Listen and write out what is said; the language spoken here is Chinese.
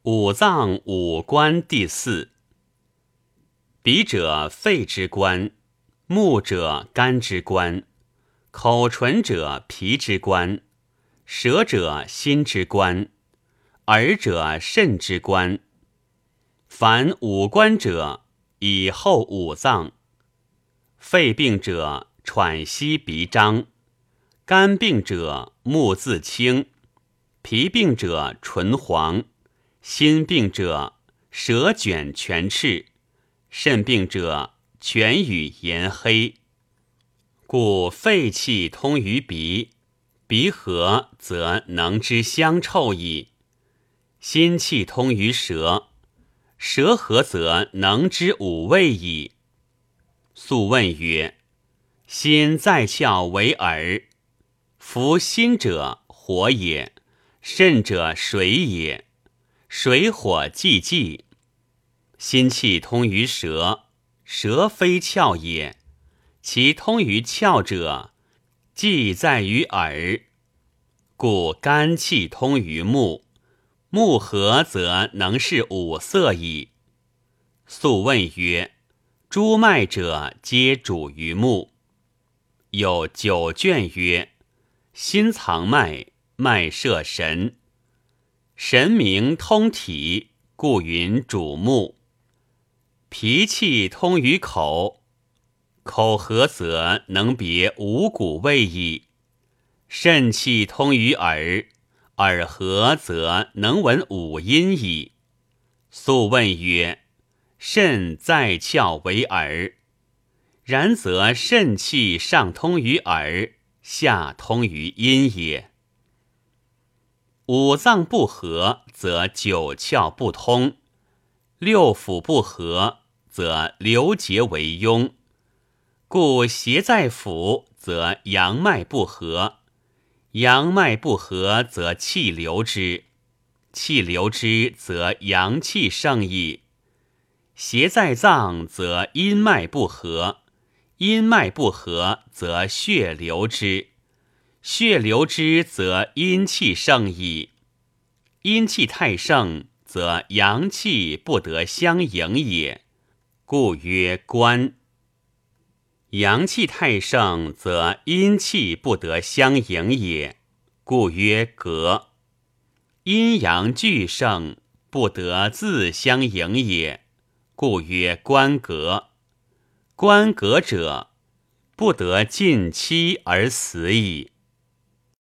五脏五官第四。鼻者肺之官，目者肝之官，口唇者脾之官，舌者心之官，耳者肾之官。凡五官者，以后五脏。肺病者，喘息鼻张；肝病者，目自清；脾病者，唇黄；心病者，舌卷全赤；肾病者，泉与颜黑。故肺气通于鼻，鼻和则能知香臭矣；心气通于舌，舌和则能知五味矣。素问曰：心在窍为耳，夫心者火也，肾者水也，水火既济。心气通于舌，舌非窍也，其通于窍者，既在于耳。故肝气通于目，目和则能视五色矣。素问曰：诸脉者皆主于目。有九卷曰：心藏脉，脉摄神，神明通体，故云主目。脾气通于口，口和则能别五谷味矣；肾气通于耳，耳和则能闻五音矣。素问曰：肾在窍为耳，然则肾气上通于耳，下通于阴也。五脏不和，则九窍不通；六腑不和，则流结为壅。故邪在腑，则阳脉不和；阳脉不和，则气流之；气流之，则阳气盛矣。邪在脏，则阴脉不和；阴脉不和，则血流之；血流之，则阴气盛矣。阴气太盛，则阳气不得相迎也，故曰官。阳气太盛，则阴气不得相迎也，故曰革。阴阳俱盛，不得自相迎也，故曰官革。官革者，不得尽期而死矣。